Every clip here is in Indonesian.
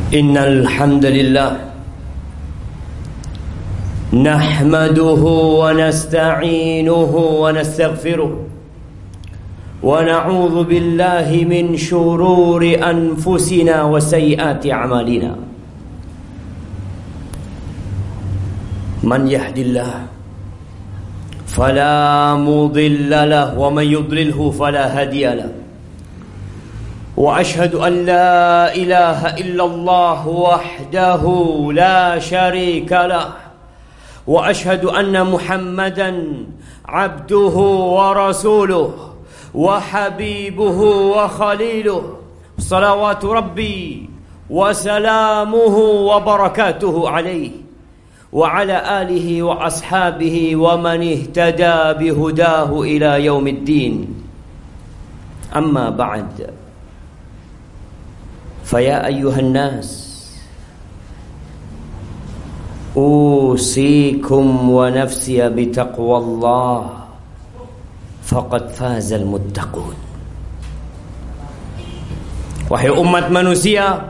Innal hamdalillah nahmaduhu wa nasta'inuhu wa nastaghfiruh wa na'udzu billahi min shururi anfusina wa sayyiati a'malina. Man yahdillah fala mudilla lahu wa man yudlilhu fala hadiya lahu. وأشهد أن لا إله إلا الله وحده لا شريك له وأشهد أن محمدا عبده ورسوله وحبيبه وخليله صلوات ربي وسلامه وبركاته عليه وعلى آله وأصحابه ومن اهتدى بهداه إلى يوم الدين. أما بعد، فيا أيها الناس أوصيكم ونفسي بتقوى الله فقد فاز المتقون. Wahai umat manusia,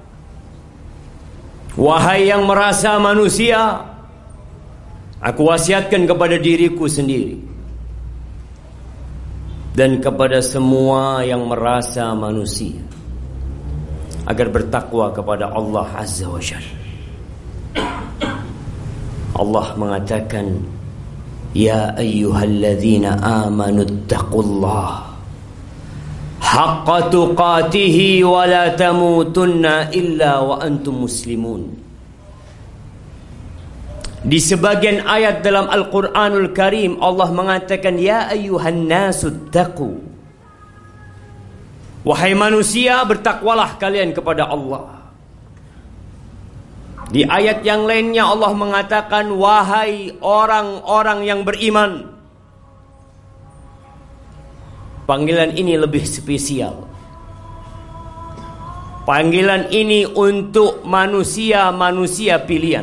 wahai yang merasa manusia, aku wasiatkan kepada diriku sendiri dan kepada semua yang merasa manusia agar bertakwa kepada Allah Azza wa Jalla. Allah mengatakan, ya ayyuhalladzina amanu taqullaha haqqa tuqatih wa la tamutunna illa wa antum muslimun. Di sebagian ayat dalam Al-Quranul Karim Allah mengatakan, ya ayyuhan nasu taqu, wahai manusia, bertakwalah kalian kepada Allah. Di ayat yang lainnya Allah mengatakan, wahai orang-orang yang beriman. Panggilan ini lebih spesial. Panggilan ini untuk manusia-manusia pilihan.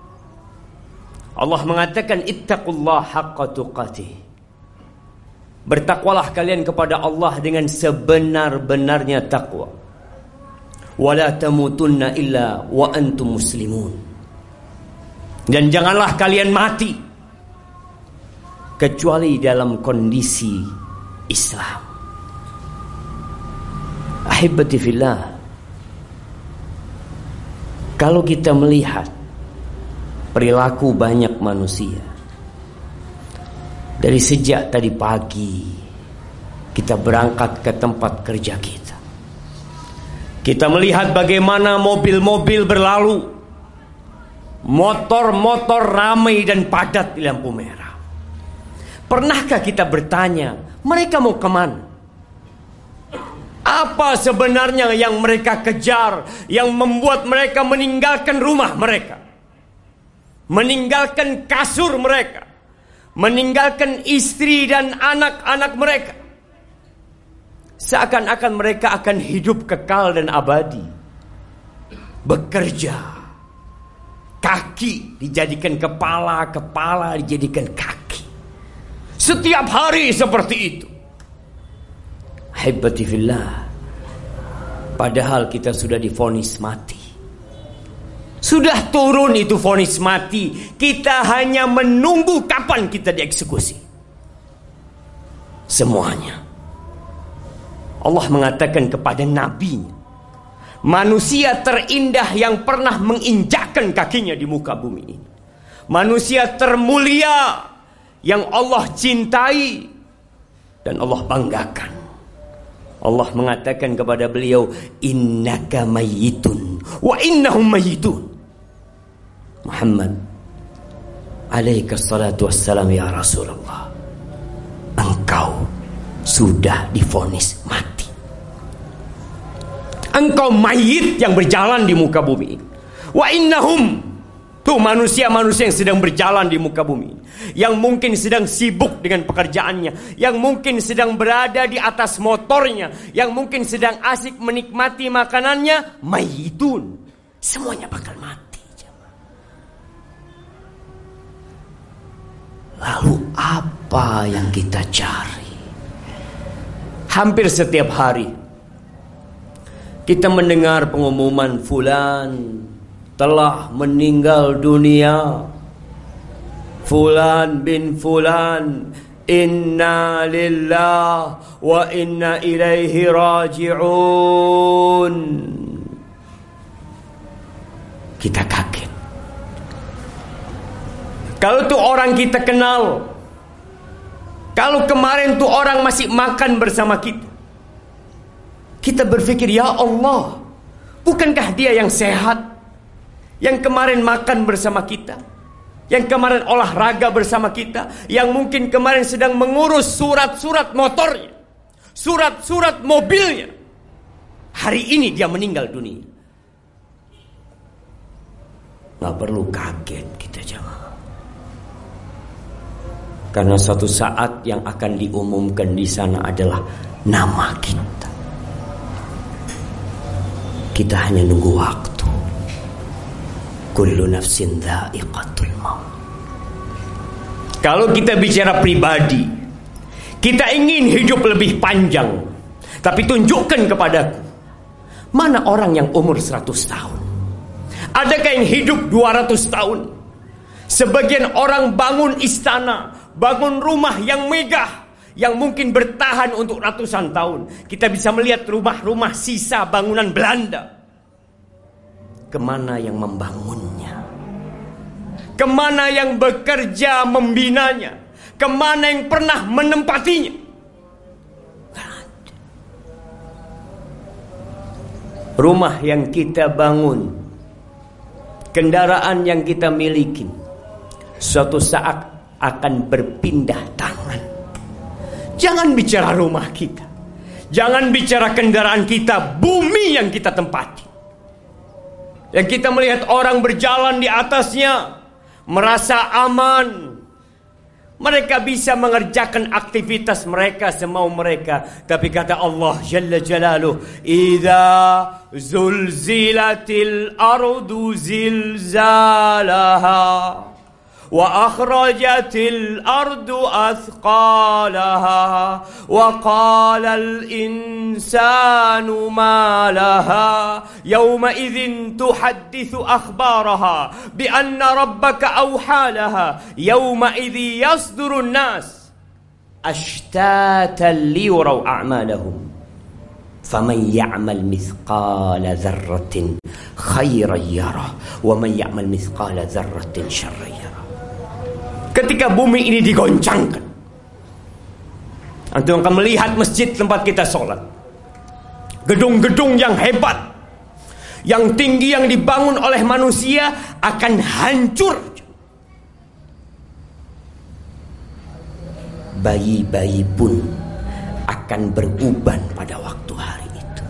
Allah mengatakan, ittaqullaha haqqa tuqatih. Bertakwalah kalian kepada Allah dengan sebenar-benarnya takwa. Wala tamutunna illa wa antum muslimun. Dan janganlah kalian mati kecuali dalam kondisi Islam. Ahibati fillah, kalau kita melihat perilaku banyak manusia, dari sejak tadi pagi kita berangkat ke tempat kerja kita, kita melihat bagaimana mobil-mobil berlalu, motor-motor ramai dan padat di lampu merah. Pernahkah kita bertanya, mereka mau kemana? Apa sebenarnya yang mereka kejar, yang membuat mereka meninggalkan rumah mereka, meninggalkan kasur mereka, meninggalkan istri dan anak-anak mereka? Seakan-akan mereka akan hidup kekal dan abadi. Bekerja, kaki dijadikan kepala, kepala dijadikan kaki. Setiap hari seperti itu. Haibati fillah, padahal kita sudah divonis mati. Sudah turun itu vonis mati. Kita hanya menunggu kapan kita dieksekusi. Semuanya. Allah mengatakan kepada nabinya, manusia terindah yang pernah menginjakkan kakinya di muka bumi ini, manusia termulia yang Allah cintai dan Allah banggakan. Allah mengatakan kepada beliau, innaka mayyitun wa innahum mayyitun. Muhammad alaika salatu wassalam, ya Rasulullah, engkau sudah divonis mati. Engkau mayit yang berjalan di muka bumi ini. Wa innahum, tuh manusia-manusia yang sedang berjalan di muka bumi ini, yang mungkin sedang sibuk dengan pekerjaannya, yang mungkin sedang berada di atas motornya, yang mungkin sedang asik menikmati makanannya, mayitun. Semuanya bakal mati. Lalu apa yang kita cari? Hampir setiap hari kita mendengar pengumuman fulan telah meninggal dunia, fulan bin fulan, inna lillah wa inna ilaihi raji'un. Kita kaget. Kalau tuh orang kita kenal, kalau kemarin tuh orang masih makan bersama kita, kita berpikir, ya Allah, bukankah dia yang sehat, yang kemarin makan bersama kita, yang kemarin olahraga bersama kita, yang mungkin kemarin sedang mengurus surat-surat motornya, surat-surat mobilnya. Hari ini dia meninggal dunia. Gak perlu kaget kita jemaah. Karena suatu saat yang akan diumumkan di sana adalah nama kita. Kita hanya nunggu waktu. Kullu nafsin dha'iqatul maut. Kalau kita bicara pribadi, kita ingin hidup lebih panjang, tapi tunjukkan kepadaku, mana orang yang umur 100 tahun? Adakah yang hidup 200 tahun? Sebagian orang bangun istana, bangun rumah yang megah, yang mungkin bertahan untuk ratusan tahun. Kita bisa melihat rumah-rumah sisa bangunan Belanda. Kemana yang membangunnya? Kemana yang bekerja membinanya? Kemana yang pernah menempatinya? Rumah yang kita bangun, kendaraan yang kita miliki, suatu saat akan berpindah tangan. Jangan bicara rumah kita, jangan bicara kendaraan kita, bumi yang kita tempati, yang kita melihat orang berjalan di atasnya, merasa aman. Mereka bisa mengerjakan aktivitas mereka semau mereka. Tapi kata Allah Jalla Jalaluh, "Idza zulzilatil ardu zilzalaha wa akhrajatil ardu athqalaha wa qalal insanu ma laha yawma idzin tuhadditsu akhbaraha bi anna rabbaka awhalaha yawma idzi yasdurun nas ashtatan liyuraw a'malahum faman ya'mal mithqala dzarratin khairan yarah wa man ya'mal mithqala dzarratin syarran yarah." Ketika bumi ini digoncangkan, antum akan melihat masjid tempat kita sholat, gedung-gedung yang hebat, yang tinggi, yang dibangun oleh manusia akan hancur. Bayi-bayi pun akan beruban pada waktu hari itu.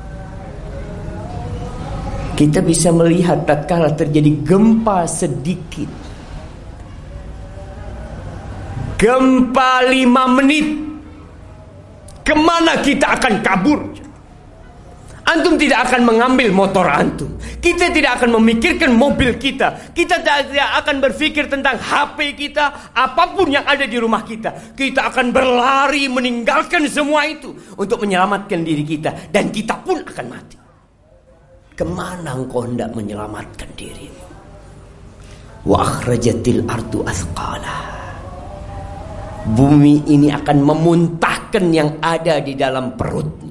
Kita bisa melihat tatkala terjadi gempa sedikit, gempa 5 menit, kemana kita akan kabur? Antum tidak akan mengambil motor antum, kita tidak akan memikirkan mobil kita, kita tidak akan berpikir tentang HP kita, apapun yang ada di rumah kita. Kita akan berlari meninggalkan semua itu untuk menyelamatkan diri kita, dan kita pun akan mati. Kemana engkau hendak menyelamatkan dirimu? Wa akhrajatil ardu athqalaha. Bumi ini akan memuntahkan yang ada di dalam perutnya,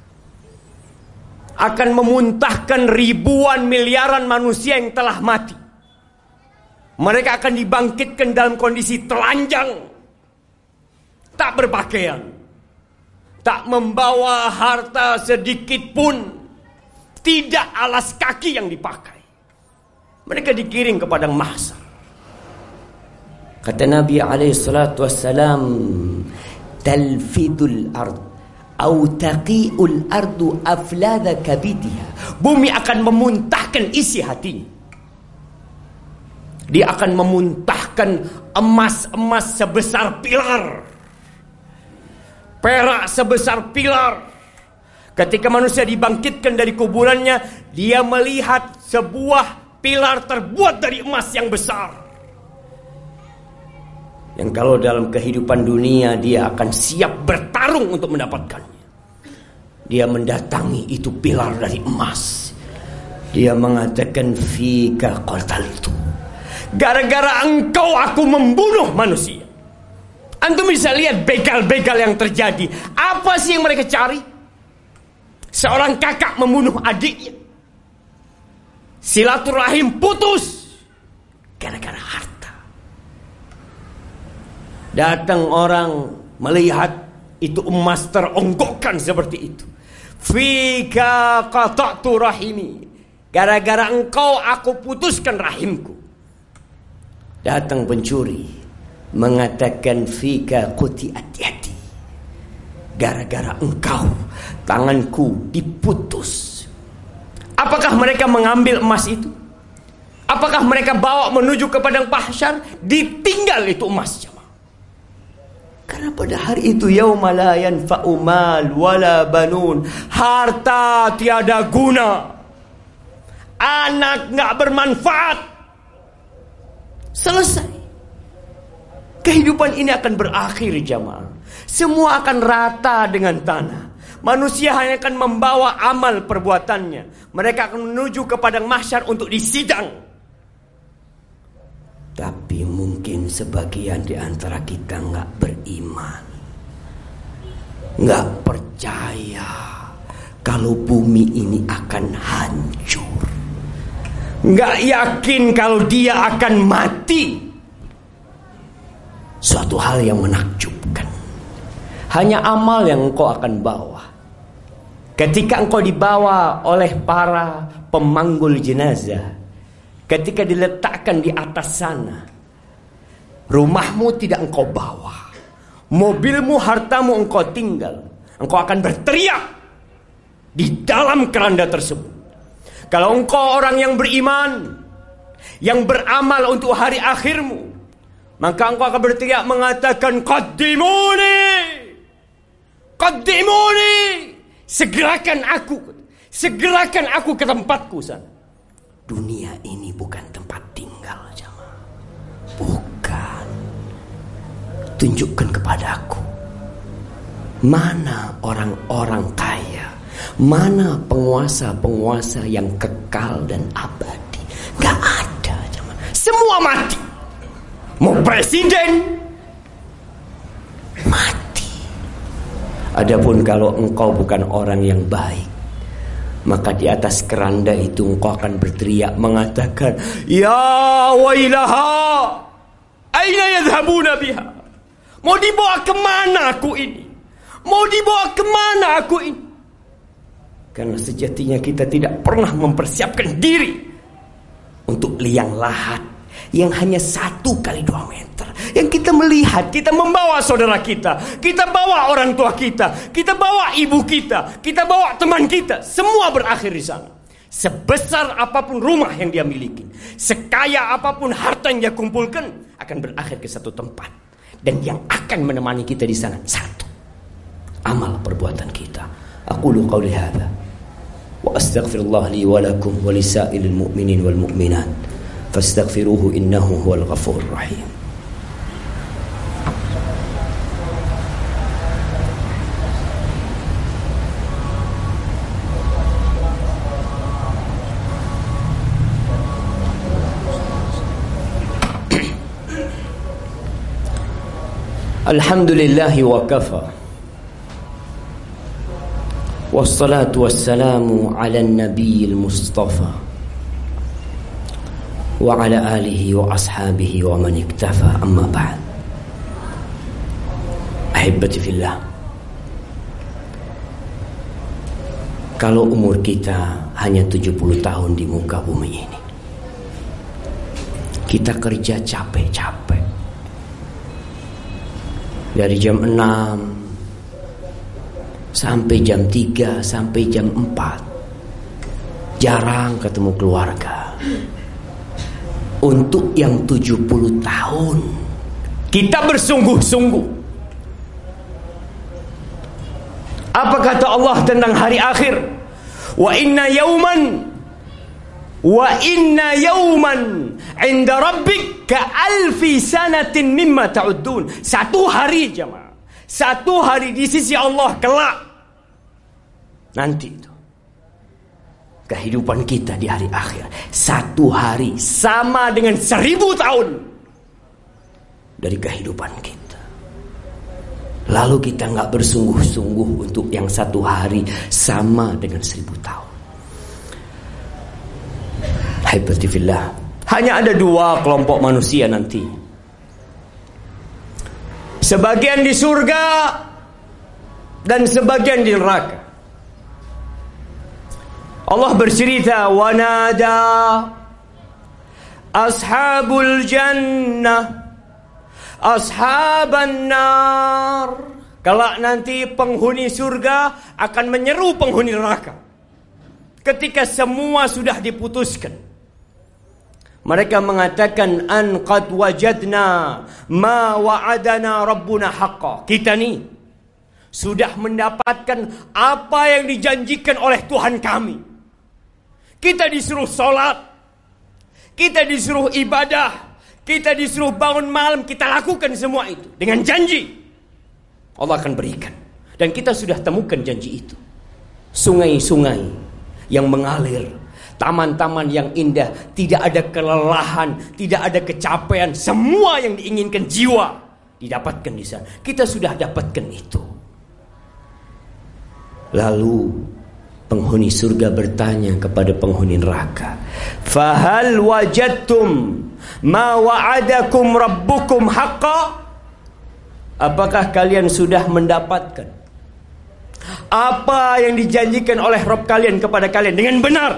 akan memuntahkan ribuan miliaran manusia yang telah mati. Mereka akan dibangkitkan dalam kondisi telanjang, tak berpakaian, tak membawa harta sedikit pun, tidak alas kaki yang dipakai. Mereka dikirim ke padang mahsyar. Kata Nabi SAW, talfidul ard au taqi'ul ardu afladha kabidiha. Bumi akan memuntahkan isi hatinya. Dia akan memuntahkan emas-emas sebesar pilar, perak sebesar pilar. Ketika manusia dibangkitkan dari kuburannya, dia melihat sebuah pilar terbuat dari emas yang besar, yang kalau dalam kehidupan dunia dia akan siap bertarung untuk mendapatkannya. Dia mendatangi itu pilar dari emas. Dia mengatakan, fika qataltu. Gara-gara engkau aku membunuh manusia. Antum bisa lihat begal-begal yang terjadi. Apa sih yang mereka cari? Seorang kakak membunuh adiknya. Silaturahim putus gara-gara harta. Datang orang melihat itu emas teronggokkan seperti itu. Fika qata'tu rahimi. Gara-gara engkau aku putuskan rahimku. Datang pencuri mengatakan, fika quti'at yadi. Gara-gara engkau tanganku diputus. Apakah mereka mengambil emas itu? Apakah mereka bawa menuju ke padang mahsyar? Ditinggal itu emasnya. Karena pada hari itu yauma la yanfa'u mal wala banun. Harta tiada guna. Anak enggak bermanfaat. Selesai. Kehidupan ini akan berakhir, jamaah. Semua akan rata dengan tanah. Manusia hanya akan membawa amal perbuatannya. Mereka akan menuju ke padang mahsyar untuk disidang. Tapi mungkin sebagian di antara kita nggak beriman, nggak percaya kalau bumi ini akan hancur, nggak yakin kalau dia akan mati. Suatu hal yang menakjubkan. Hanya amal yang engkau akan bawa. Ketika engkau dibawa oleh para pemanggul jenazah, ketika diletakkan di atas sana, rumahmu tidak engkau bawa, mobilmu, hartamu engkau tinggal. Engkau akan berteriak di dalam keranda tersebut. Kalau engkau orang yang beriman, yang beramal untuk hari akhirmu, maka engkau akan berteriak mengatakan, qaddimuni, qaddimuni, segerakan aku ke tempatku sana. Dunia ini bukan tempat tinggal, jamaah. Bukan. Tunjukkan kepadaku, mana orang-orang kaya, mana penguasa-penguasa yang kekal dan abadi. Gak ada, jamaah. Semua mati. Mau presiden mati. Adapun kalau engkau bukan orang yang baik, maka di atas keranda itu engkau akan berteriak mengatakan, ya wailaha, aina yadhhabuna biha. Mau dibawa kemana aku ini? Mau dibawa kemana aku ini? Karena sejatinya kita tidak pernah mempersiapkan diri untuk liang lahat yang hanya 1 kali 2 meter. Yang kita melihat, kita membawa saudara kita, kita bawa orang tua kita, kita bawa ibu kita, kita bawa teman kita, semua berakhir di sana. Sebesar apapun rumah yang dia miliki, sekaya apapun harta yang dia kumpulkan, akan berakhir ke satu tempat. Dan yang akan menemani kita di sana satu, amal perbuatan kita. Aqulu qauli hadza wa astaghfirullah li wa lakum wa lisairil mu'minin wal mu'minat. Fastaghfiruhu innahu huwal ghafurur rahim. Alhamdulillahi wa kafa. Wassalatu wassalamu ala nabiyil mustafa wa ala alihi wa ashabihi wa man iktafa, amma ba'd. Ahibati fillah, kalau umur kita hanya 70 tahun di muka bumi ini, kita kerja capek-capek dari jam 6 sampai jam 3 sampai jam 4, jarang ketemu keluarga. Untuk yang 70 tahun kita bersungguh-sungguh. Apa kata Allah tentang hari akhir? Wa inna yawman 'inda rabbik ka alfi sanatin mimma ta'uddun. Satu hari, jemaah, satu hari di sisi Allah kelak Nanti itu kehidupan kita di hari akhir, satu hari sama dengan 1000 tahun dari kehidupan kita. Lalu kita nggak bersungguh-sungguh untuk yang satu hari sama dengan 1000 tahun. Haibati fillah. Hanya ada 2 kelompok manusia nanti. Sebagian di surga dan sebagian di neraka. Allah bercerita, wa nada ashabul jannah ashaban nar. Kelak nanti penghuni surga akan menyeru penghuni neraka. Ketika semua sudah diputuskan, mereka mengatakan, an qad wajadna ma wa'adana rabbuna haqqa. Kita nih sudah mendapatkan apa yang dijanjikan oleh Tuhan kami. Kita disuruh sholat, kita disuruh ibadah, kita disuruh bangun malam, kita lakukan semua itu dengan janji Allah akan berikan. Dan kita sudah temukan janji itu. Sungai-sungai yang mengalir, taman-taman yang indah, tidak ada kelelahan, tidak ada kecapean, semua yang diinginkan jiwa didapatkan di sana. Kita sudah dapatkan itu. Lalu penghuni surga bertanya kepada penghuni neraka, fahal wajadtum ma wa'adakum rabbukum haqqa? Apakah kalian sudah mendapatkan apa yang dijanjikan oleh Rabb kalian kepada kalian dengan benar?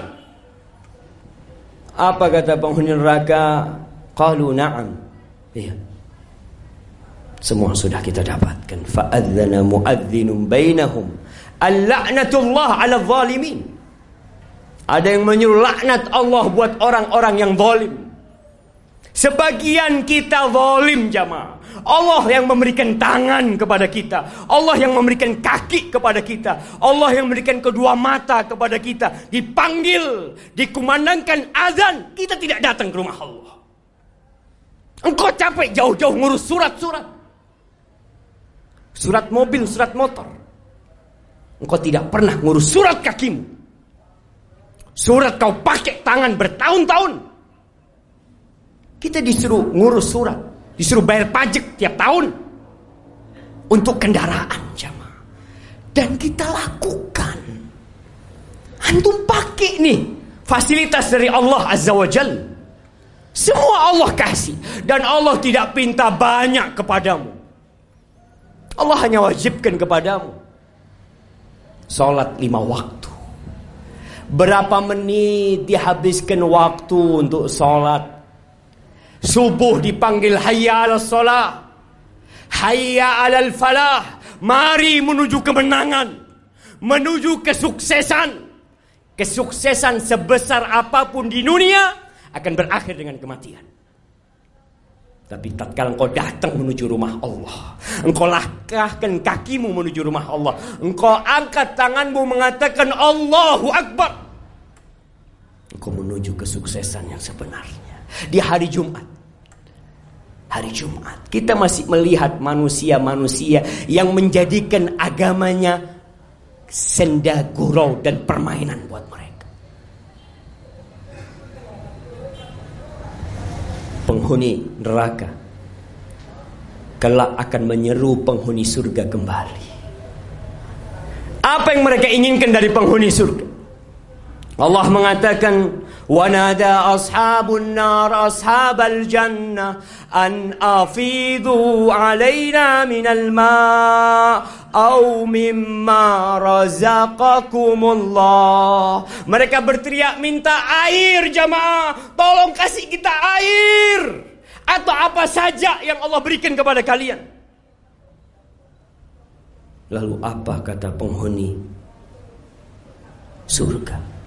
Apa kata penghuni neraka? Qalu na'am. Iya, semua sudah kita dapatkan. Fa'adzana mu'adzinun bainahum al-la'natullah 'ala zalimin. Ada yang menyuruh laknat Allah buat orang-orang yang zalim. Sebagian kita zalim jamaah. Allah yang memberikan tangan kepada kita, Allah yang memberikan kaki kepada kita, Allah yang memberikan kedua mata kepada kita. Dipanggil, dikumandangkan azan, kita tidak datang ke rumah Allah. Engkau capek jauh-jauh ngurus surat-surat, surat mobil, surat motor. Engkau tidak pernah ngurus surat kakimu. Surat kau pakai tangan bertahun-tahun. Kita disuruh ngurus surat, disuruh bayar pajak tiap tahun untuk kendaraan jamaah. Dan kita lakukan. Antum pakai nih fasilitas dari Allah Azza wa Jalla. Semua Allah kasih. Dan Allah tidak pinta banyak kepadamu. Allah hanya wajibkan kepadamu sholat 5 waktu. Berapa menit dihabiskan waktu untuk sholat? Subuh dipanggil hayya 'alas shalah, hayya 'alal falah. Mari menuju kemenangan, menuju kesuksesan. Kesuksesan sebesar apapun di dunia akan berakhir dengan kematian. Tapi tatkala engkau datang menuju rumah Allah, engkau langkahkan kakimu menuju rumah Allah, engkau angkat tanganmu mengatakan Allahu Akbar, engkau menuju kesuksesan yang sebenarnya. Di hari Jumat, hari Jumat kita masih melihat manusia-manusia yang menjadikan agamanya senda gurau dan permainan buat mereka. Penghuni neraka kelak akan menyeru penghuni surga kembali. Apa yang mereka inginkan dari penghuni surga? Allah mengatakan, wa nada ashabun nar ashabal jannah an afidu alaina minal ma' au mimma razaqakumullah. Mereka berteriak minta air jamaah, tolong kasih kita air atau apa saja yang Allah berikan kepada kalian. Lalu apa kata penghuni surga?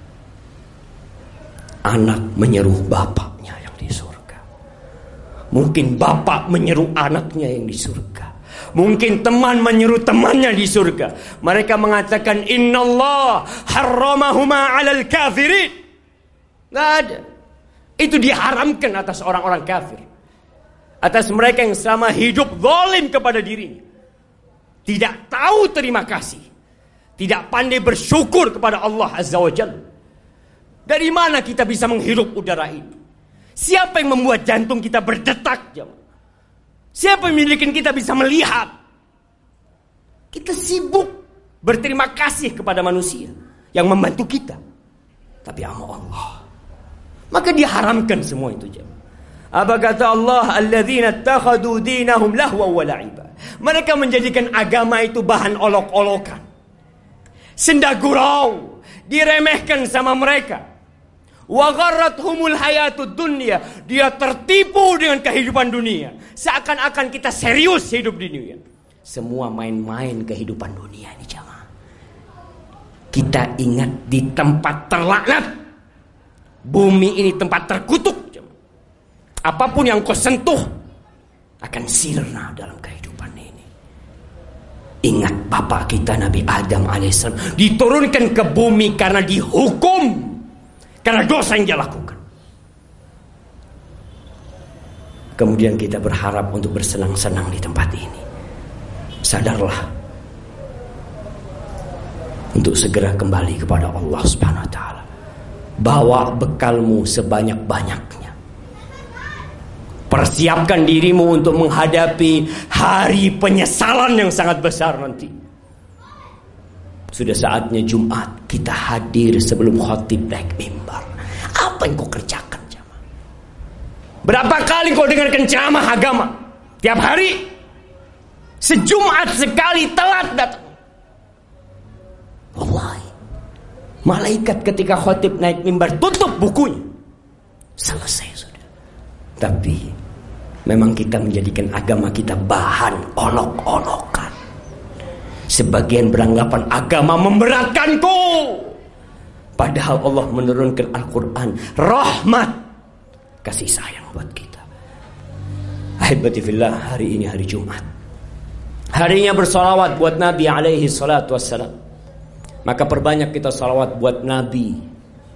Anak menyeru bapaknya yang di surga. Mungkin bapak menyeru anaknya yang di surga. Mungkin teman menyeru temannya di surga. Mereka mengatakan innallah harramahuma 'alal kafirin. Enggak ada. Itu diharamkan atas orang-orang kafir. Atas mereka yang selama hidup zalim kepada dirinya. Tidak tahu terima kasih. tidak pandai bersyukur kepada Allah Azza wa Jalla. Dari mana kita bisa menghirup udara ini? Siapa yang membuat jantung kita berdetak? Siapa yang memiliki kita bisa melihat? Kita sibuk berterima kasih kepada manusia yang membantu kita. Tapi sama Allah, maka diharamkan semua itu. Apa kata Allah? Alladzina ittakhadhu dinahum lahwa wa la'iba. Mereka menjadikan agama itu bahan olok-olokan, senda gurau, diremehkan sama mereka. Wa gharrathumul hayatud dunya. Dia tertipu dengan kehidupan dunia, seakan-akan kita serius hidup di dunia. Semua main-main kehidupan dunia ini, jamaah. Kita ingat di tempat terlaknat. Bumi ini tempat terkutuk. Apapun yang kau sentuh akan sirna dalam kehidupan ini. Ingat bapak kita Nabi Adam alaihissalam diturunkan ke bumi karena dihukum, karena dosa yang dia lakukan. Kemudian kita berharap untuk bersenang-senang di tempat ini. Sadarlah untuk segera kembali kepada Allah Subhanahu wa taala. Bawa bekalmu sebanyak-banyaknya. Persiapkan dirimu untuk menghadapi hari penyesalan yang sangat besar nanti. Sudah saatnya Jumat kita hadir sebelum khatib naik mimbar. Apa yang kau kerjakan, jamaah? Berapa kali kau dengarkan ceramah agama? Tiap hari? Sejumat sekali telat datang. Wallahi, malaikat ketika khatib naik mimbar tutup bukunya. Selesai sudah. Tapi memang kita menjadikan agama kita bahan olok-olokan. Sebagian beranggapan agama memberatkanku, padahal Allah menurunkan Al-Quran rahmat, kasih sayang buat kita. Ahibati fillah, hari ini hari Jumat, harinya bersalawat buat Nabi alaihi salatu wassalam. Maka perbanyak kita salawat buat Nabi.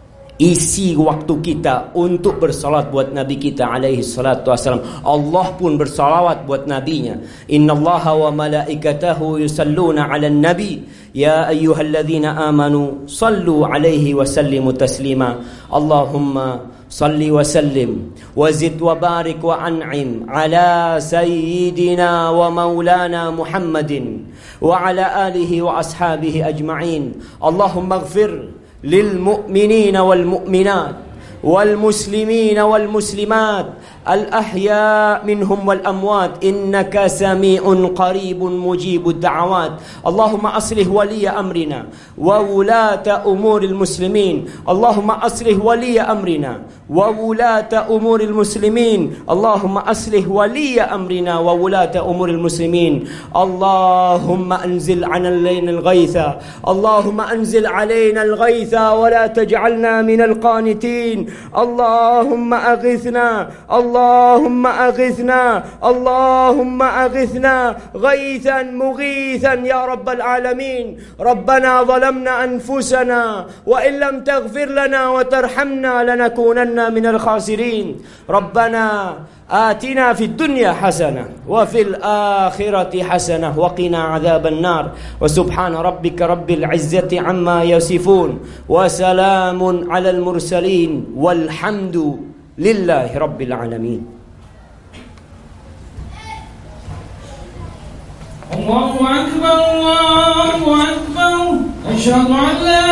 Isi waktu kita untuk bersalat buat Nabi kita alaihi salatu wassalam. Allah pun bersalawat buat nabinya. Innallaha wa malaikatahu yusalluna 'alan nabi ya ayyuhalladzina amanu sallu 'alaihi wa sallimu taslima. Allahumma salli wa sallim wa zid wa barik wa an'im ala sayyidina wa maulana Muhammadin wa ala alihi wa ashabihi ajma'in. Allahumma ighfir للمؤمنين والمؤمنات والمسلمين والمسلمات الأحياء منهم والأموات إنك سميع قريب مجيب الدعوات. اللهم أصلح ولي أمرنا وولاة أمور المسلمين. اللهم أصلح ولي أمرنا وولاة أمور المسلمين. اللهم أصلح ولي أمرنا وولاة أمور المسلمين. اللهم أنزل علينا الغيث. اللهم أنزل علينا الغيث ولا تجعلنا من القانتين. اللهم أغثنا. اللهم أغثنا. اللهم أغثنا غيثا مغيثا يا رب العالمين. ربنا ظلمنا أنفسنا وإن لم تغفر لنا وترحمنا لنكونن من الخاسرين. ربنا آتنا في الدنيا حسنة وفي الآخرة حسنة وقنا عذاب النار. وسبحان ربك رب العزة عما يصفون وسلام على المرسلين والحمد لله رب العالمين. الله أكبر الله أكبر. أشهد أن لا